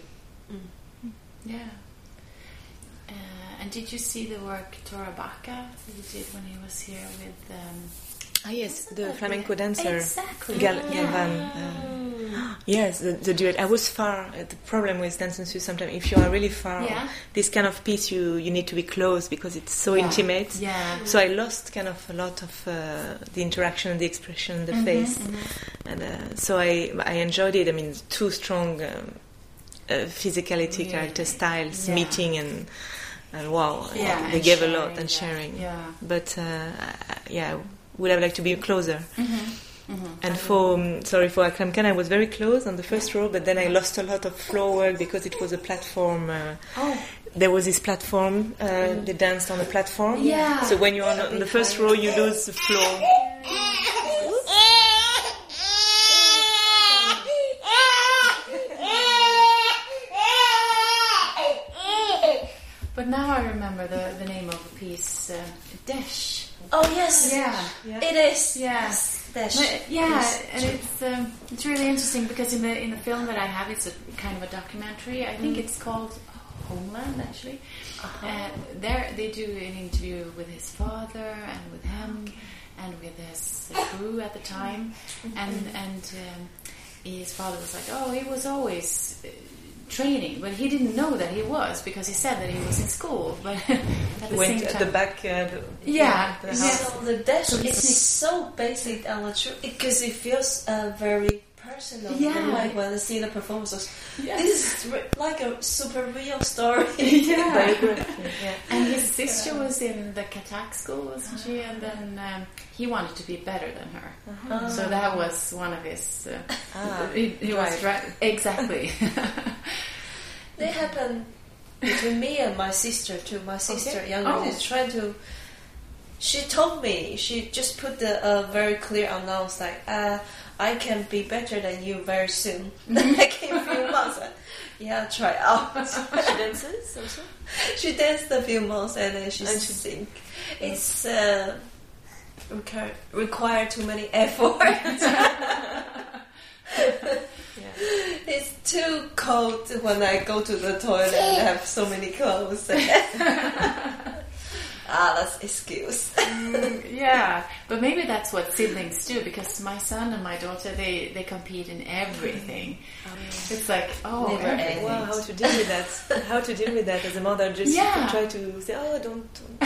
And did you see the work Tora Bacca he did when he was here with yes, the flamenco dancer. Exactly. Galvan. Yes, the duet. I was far. The problem with Dance en Sus, sometimes if you are really far, this kind of piece you need to be close because it's so intimate. So I lost kind of a lot of the interaction, the expression, the face, and so I enjoyed it. I mean, two strong physicality, character styles meeting and wow, they gave sharing, a lot and sharing. But would have liked to be closer. And for Akramkan, I was very close on the first row, but then I lost a lot of floor work because it was a platform. There was this platform. They danced on a platform. So when you're on the first row, you lose the floor. But now I remember the name of the piece, Desh. Oh yes, it is. Yes, Desh. And it's really interesting because in the film that I have, it's a kind of a documentary. I think it's called Homeland actually. There they do an interview with his father and with him and with his crew at the time, and his father was like, oh, he was always training, but he didn't know that he was because he said that he was in school. But at the same time, at the back. So the Desh is so basic and true because it feels very personal. Like when I see the performances, this is like a super real story. And his sister was in the Katak school, wasn't she? And then he wanted to be better than her. So that was one of his. He was right. Exactly. They happen between me and my sister too. My sister, younger, is trying to. She told me, she just put the very clear announce like, I can be better than you very soon. Like in a few months. Try out. She dances also? She danced a few months and then she sings. It's require too many efforts. It's too cold when I go to the toilet and have so many clothes. That's excuse. But maybe that's what siblings do, because my son and my daughter, they compete in everything. It's like, wow, how to deal with that? How to deal with that as a mother? Just try to say, don't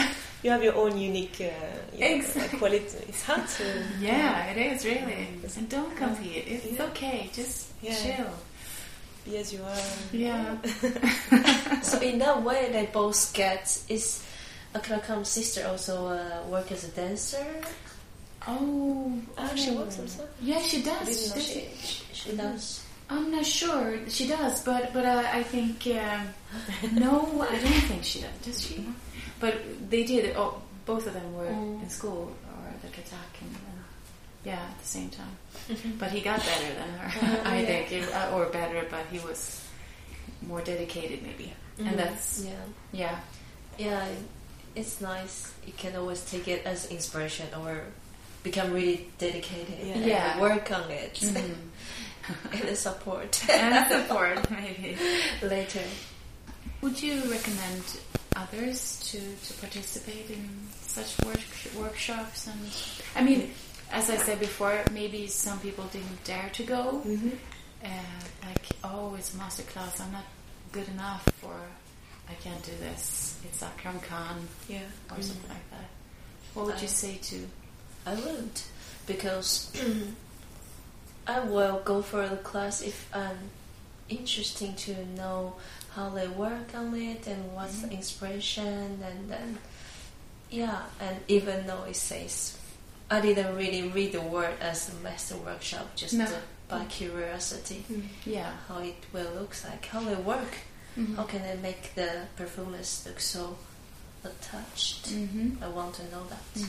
you have your own unique Exactly. quality. It's hard to... Yeah, it is really. And don't compete. It's okay. Just chill. Be as you are. Yeah. So in that way, they both get... Is Akrakam's sister also work as a dancer? Oh, she works also? Yeah, she does. I didn't know she does. I'm not sure she does, but I think no, I don't think she does. Does she? But they did. Oh, both of them were in school or the Katak, and at the same time. But he got better than her, I think, or better. But he was more dedicated, maybe, and that's yeah. It's nice. You can always take it as inspiration or become really dedicated and work on it. And support. Maybe. Later. Would you recommend others to participate in such workshops? And I mean, as I said before, maybe some people didn't dare to go. Like, it's a master class, I'm not good enough, or I can't do this. It's Akram Khan, or something like that. What would you say to? I would, because I will go for the class if I'm interesting to know how they work on it and what's the inspiration, and then and even though it says I didn't really read the word as a master workshop, just by curiosity, how it will look like, how they work, how can they make the performance look so attached. I want to know that.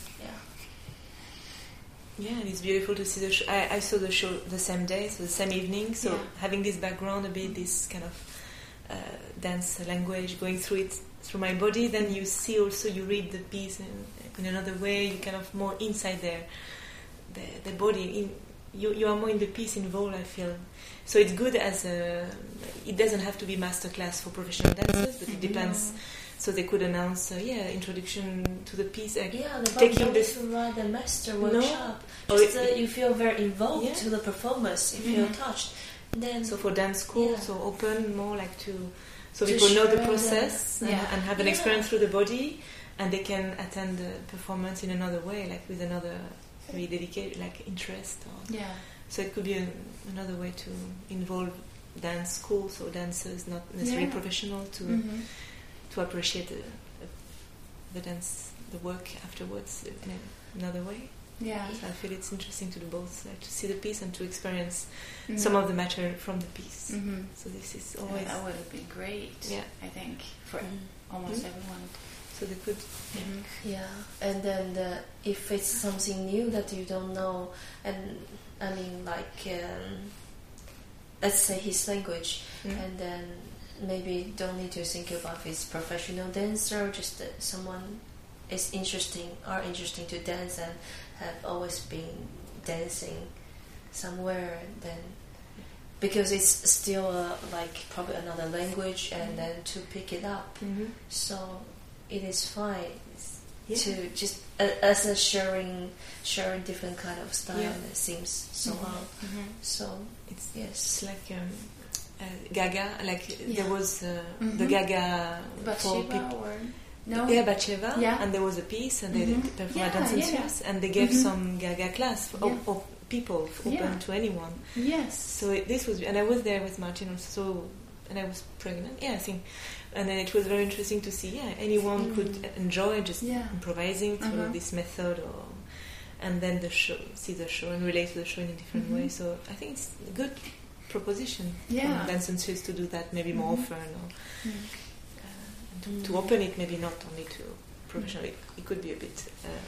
Yeah, and it's beautiful to see the show. I saw the show the same day, so the same evening. So having this background, a bit this kind of dance language going through my body, then you see also, you read the piece in another way. You kind of more inside there, the body. You are more in the piece involved, I feel. So it's good as it doesn't have to be masterclass for professional dancers, but it depends. So they could announce, introduction to the piece. Taking this the master workshop. You feel very involved to the performance. You feel touched. Then so for dance school, so open more like so people know the process and have an experience through the body, and they can attend the performance in another way, like with another very dedicated, like interest. So it could be another way to involve dance schools or dancers, not necessarily professional, to appreciate the dance, the work afterwards in another way. Yeah. So I feel it's interesting to do both, like to see the piece and to experience some of the material from the piece. So this is always... that would have been great, I think, for almost everyone. So they could... and then if it's something new that you don't know, and I mean, like, let's say his language, and then maybe don't need to think about if it's professional dancer, just someone is interesting to dance and have always been dancing somewhere, then because it's still like probably another language, and then to pick it up, so it is fine to just as a sharing different kind of style. It seems so well. So it's like Gaga, like there was the Gaga for people. Batsheva, and there was a piece, and they performed dance in Swiss, and they gave some Gaga class for people, open to anyone. Yes. So this was, and I was there with Martin also, and I was pregnant. I think, and then it was very interesting to see. Anyone could enjoy just improvising through this method, and then see the show and relate to the show in a different way. So I think it's a good proposition for Dance in Swiss to do that maybe more often, or to open it maybe not only to professional. It could be a bit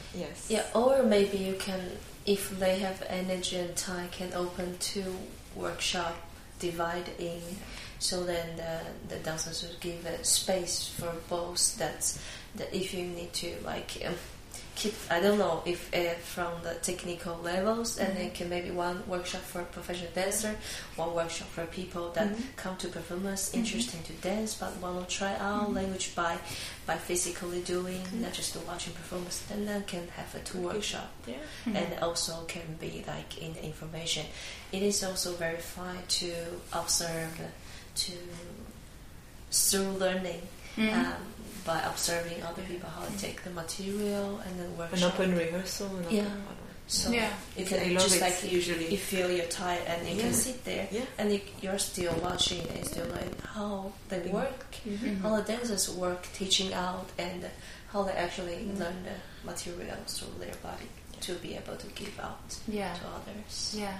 or maybe you can, if they have energy and time, can open 2 workshop divide in, so then the dancers would give a space for both. That if you need to keep, I don't know if from the technical levels, and then can maybe one workshop for a professional dancer, one workshop for people that come to performance interesting to dance but want to try out language by physically doing, not just watching performance. And then can have a 2 workshop, and also can be like in the information. It is also very fine to observe through learning. by observing other people how to take the material and then workshop. An open rehearsal. So I can love just it, like usually. you feel you're tired and you can sit there and you're still watching and still like how they work, how the dancers work, teaching out, and how they actually learn the materials through their body to be able to give out to others. Yeah.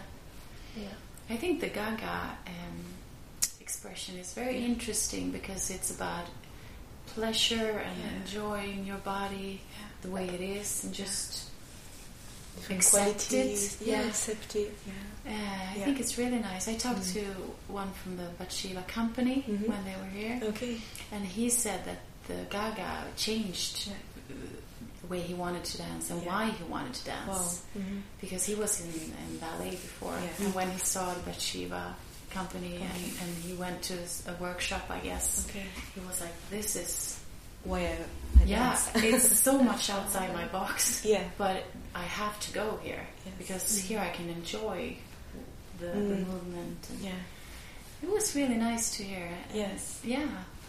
I think the Gaga expression is very interesting because it's about pleasure and enjoying your body the way it is and just accept it. Accept it. I think it's really nice. I talked to one from the Vatshiva company when they were here. Okay. And he said that the Gaga changed the way he wanted to dance and why he wanted to dance. Wow. Because he was in ballet before. And when he saw the Vatshiva company and he went to a workshop, I guess, he was like, this is... Why I dance. It's so much outside my box. Yeah. But I have to go here because here I can enjoy the movement. And it was really nice to hear. Yes. Yeah.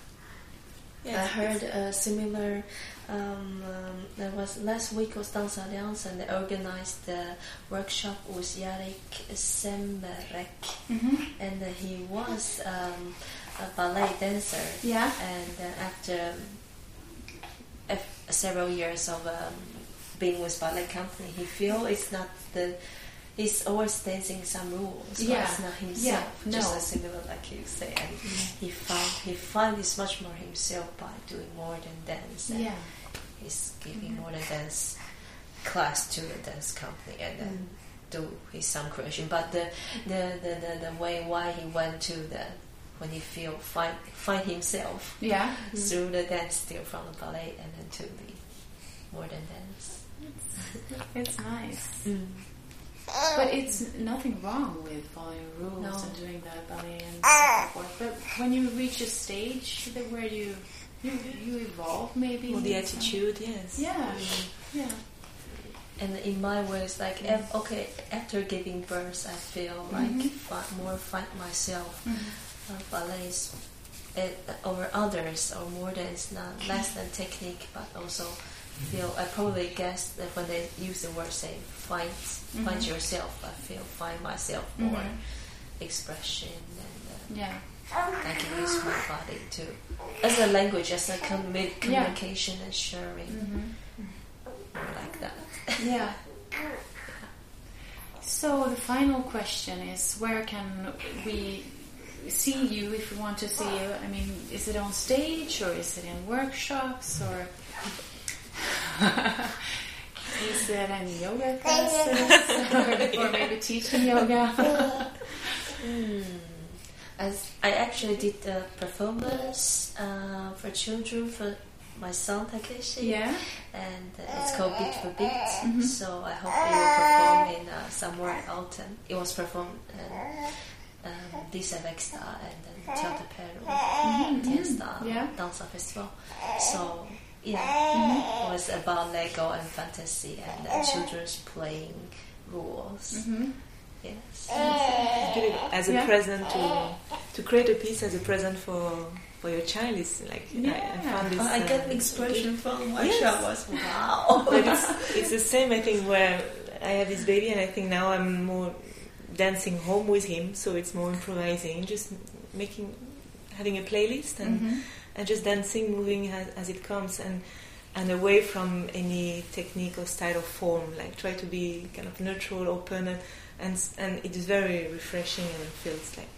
I heard a similar. There was last week was Dance Alliance, and they organized the workshop with Jarek Semmerek, and he was a ballet dancer. Yeah. And after several years of being with ballet company, he feel it's not the. He's always dancing some rules, but it's not himself. Just as similar like you say, and he find he's much more himself by doing more than dance. And he's giving more than dance class to the dance company, and then do his some creation. But the way why he went to the when he find himself through the dance, still from the ballet, and then to the more than dance. It's nice. But it's nothing wrong with following rules and doing the ballet and so forth. But when you reach a stage where you evolve, maybe. Or the attitude, Yeah. And in my way, it's like after giving birth, I feel like more find myself. Ballets over others, or more than it's not less than technique, but also feel. I probably guess that when they use the word say find yourself, I feel find myself more expression and I can use my body to as a language, as a communication and sharing, more like that. Yeah. So the final question is, where can we see you if we want to see you? I mean, is it on stage or is it in workshops or is it in yoga classes or maybe teaching yoga? I actually did a performance for children for my son Takeshi, and it's called Beat for Beat. So I hope he will perform in somewhere in autumn. It was performed Disa Vexta and then Teater Peru, Tiensta Dansa Festival. So it was about Lego and fantasy and children's playing rules. Yes. As a present to create a piece as a present for your child is like I found this. I get the expression from workshop was wow. But it's the same, I think, where I have this baby and I think now I'm more dancing home with him, so it's more improvising, just having a playlist and just dancing, moving as it comes and away from any technique or style or form, like try to be kind of neutral, open, and it is very refreshing and it feels like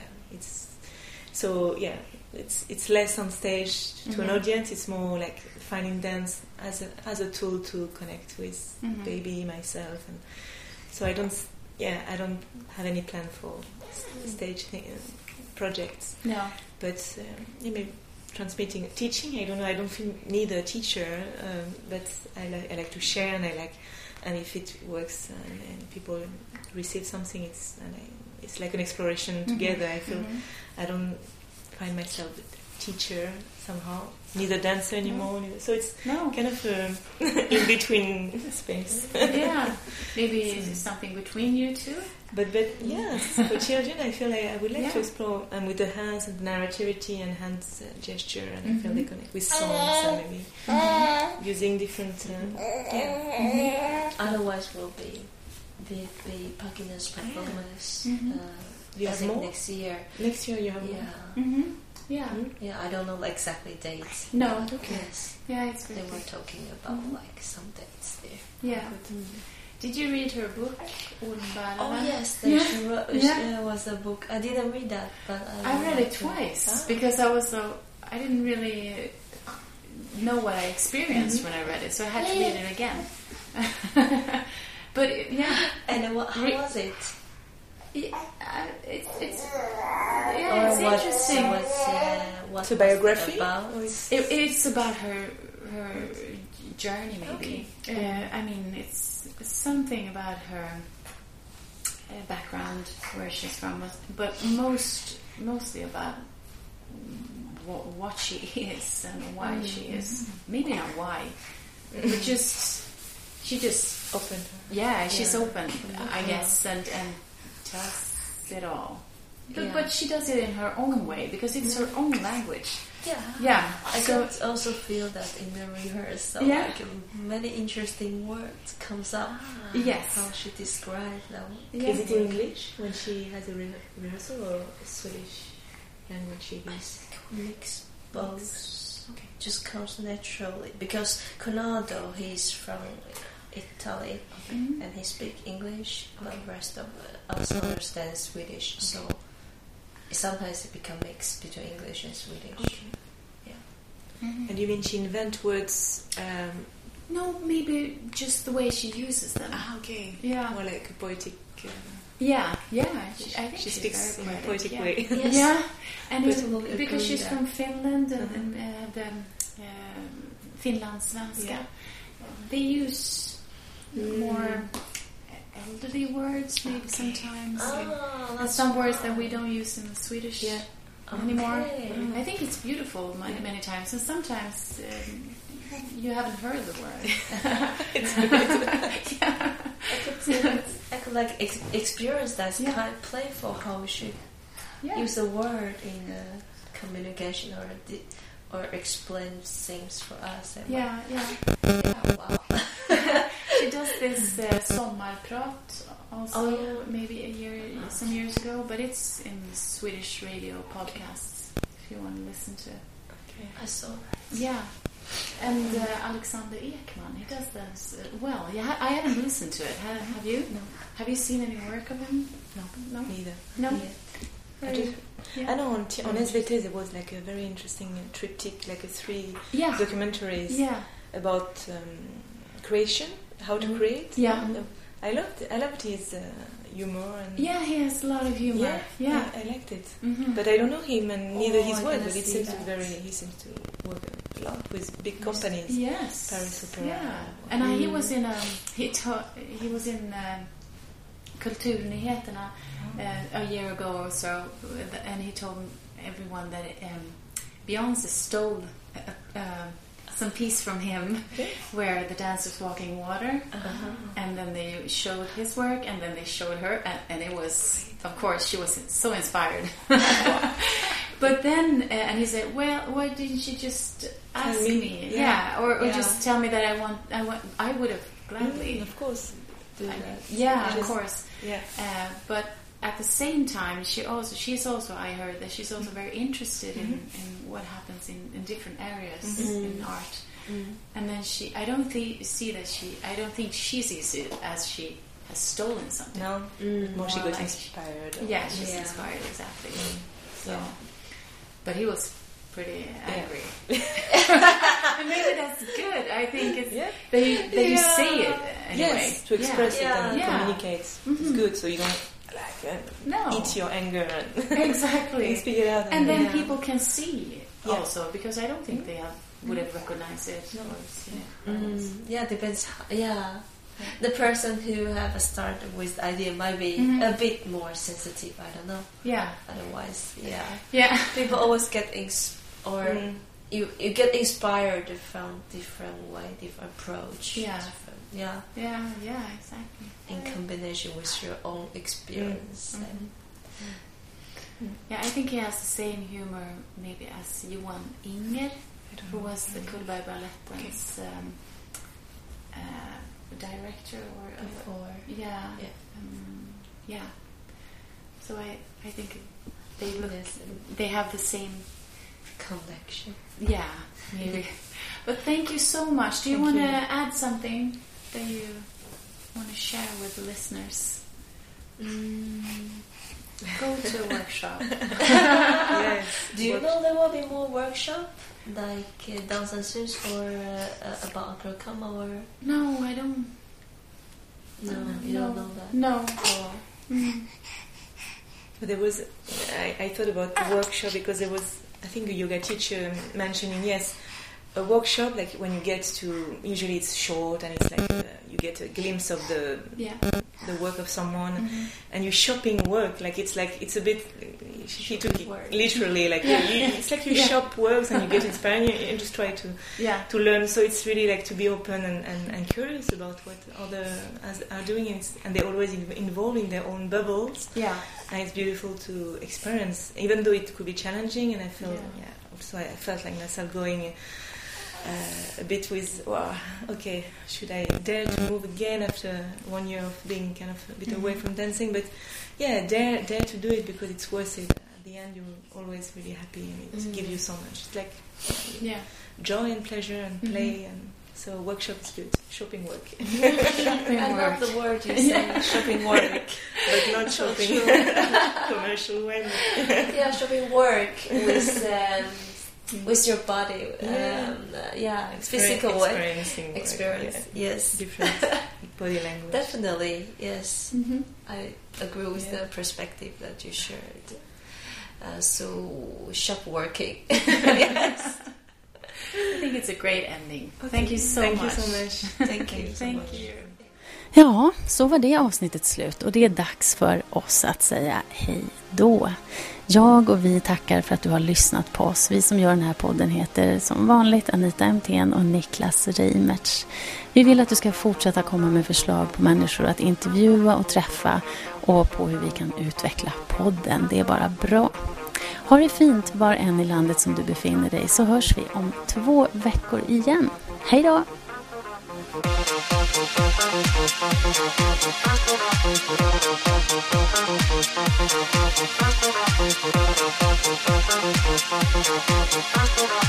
it's less on stage to an audience. It's more like finding dance as a tool to connect with baby, myself, and so I don't have any plan for stage projects. No, but maybe transmitting, teaching. I don't know. I don't need a teacher, but I like to share, and if it works and people receive something, it's like an exploration together. I feel I don't find myself teacher somehow, neither dancer anymore. So it's No. kind of in between space. Yeah. Maybe it's something between you two. But yes, for children, I feel like I would like to Yeah. explore, and with the hands and the narrativity and hands gesture, and I feel they connect with songs and maybe using different. Otherwise, will be Paquina's performance. You I have think more? next year. Next year you have Yeah, more. Mm-hmm. Yeah. yeah. I don't know exactly dates. No. Yes, Yeah, it's they very were good. talking about like some dates there. Yeah. Did you read her book, Ormbäraren? Oh yes, Yeah. she wrote, Yeah. was a book. I didn't read that, but I read it liked twice Ah. because I didn't really know what I experienced when I read it, so I had to read it again. But yeah, And how was it? it's Or what interesting. What's a biography? about? It's about her journey, maybe. I mean, it's something about her background, where she's from, but mostly about what she is and why she is. Maybe not why, but she just Open. yeah, she's open, I guess, and tells it all. But she does it in her own way because it's her own language. Yeah. Yeah, I so could also feel that in the rehearsal. Yeah. Like many interesting words comes up. yes. How she described them. Yeah. Is it in English when she has a rehearsal or Swedish language she uses? Mix both. Okay. Just comes naturally because Conrado, he's from Italy and he speaks English, but the rest of us understand Swedish. So sometimes it becomes mixed between English and Swedish. Okay. And you mean she invent words? No, maybe just the way she uses them. Okay. Yeah. More like a poetic. Yeah. I think She she's speaks very in a poetic yeah. way. Yes. Yeah, and But it's we'll because agree she's that. from Finland and the Finlandssvenska, Yeah. they use more elderly words maybe sometimes. And some words that we don't use in the Swedish anymore. Okay. I think it's beautiful many times, and sometimes you haven't heard the word. Yeah. I could like experience that Yeah. kind of playful how we should Yeah. use a word in communication or explain things for us. And Yeah. wow. She does this sommarprat also, maybe some years ago, but it's in Swedish radio podcasts if you want to listen to it. Okay. I saw. Yeah, and Alexander Ekman, he does this well. Yeah, I haven't listened to it. Have you? No. Have you seen any work of him? No. Neither. No. I just- Yeah. I know on SVT there was like a very interesting triptych, like a 3 Yeah. documentaries Yeah. about creation, how to create. Yeah. I loved his humor and Yeah, he has a lot of humor. Yeah. I liked it. Mhm. But I don't know him and neither his I work. cannot But it see seems to that. he seems to work a lot with big companies. Yes. Paris Opera. Yeah. And he was in he was in Kulturnyheterna a year ago or so, and he told everyone that Beyoncé stole some piece from him, where the dancers walking water, and then they showed his work, and then they showed her, and it was, of course, she was so inspired. But then, and he said, "Well, why didn't you just ask me? Yeah. Or just tell me that I would have gladly." Of course. Do that. Yeah, of course. Yeah. But at the same time, she's also I heard that she's also very interested in what happens in different areas in art. And then I don't think she sees it as she has stolen something. No. More she More got like- inspired. Yeah, she's inspired, exactly. So, but he was pretty angry. And maybe that's good. I think it's that you say it anyway. Yes, to express it and Yeah. communicate. It's good, so you don't eat your anger and Exactly. speak it out. And then people can see also, because I don't think they would have recognized it or seen it. Yeah, depends. The person who have started with the idea might be a bit more sensitive. I don't know. Yeah. Otherwise, Yeah. people always get or you get inspired from different way, different approach. Yeah. Yeah, exactly. in combination with your own experience. Yeah, I think he has the same humor maybe as Johan Inger, who was the Cullbergbalettens director or Before. Yeah. So I think they have the same connection. Yeah, maybe. But thank you so much. Do you want to add something that you want to share with the listeners? Go to a workshop. Yes. Do you know there will be more workshop like Dance and Sus or about Agrokama or? No, I don't. No, you don't know that. No. Oh. But there was, I thought about the workshop because there was, I think, a yoga teacher mentioning, yes, a workshop, like when you get to, usually it's short and it's like you get a glimpse of the work of someone, and you shopping work, like it's a bit, she took it literally, like it's like you shop works and you get inspired and just try to learn. So it's really like to be open and curious about what others are doing, and they're always involved in their own bubbles. Yeah. And it's beautiful to experience, even though it could be challenging. And I felt, also I felt like myself going a bit with, okay, should I dare to move again after 1 year of being kind of a bit away from dancing? But dare to do it because it's worth it. At the end, you're always really happy, and it gives you so much. It's like joy and pleasure and play, and so workshop is good. Shopping work. I love the word you say, shopping work. But not shopping commercial way. Yeah, shopping work with your body. Physical way. Experience. Yes. Different body language. Definitely, yes. I agree with the perspective that you shared. So, shop working. Yes. I think it's a great ending. Thank you so much. Thank you so much. Thank you. Ja, så var det avsnittet slut och det är dags för oss att säga hej då. Jag och vi tackar för att du har lyssnat på oss. Vi som gör den här podden heter som vanligt Anita Emthén och Niklas Reimertz. Vi vill att du ska fortsätta komma med förslag på människor att intervjua och träffa och på hur vi kan utveckla podden. Det är bara bra. Ha det fint var än i landet som du befinner dig, så hörs vi om 2 veckor igen. Hej då! Thank you.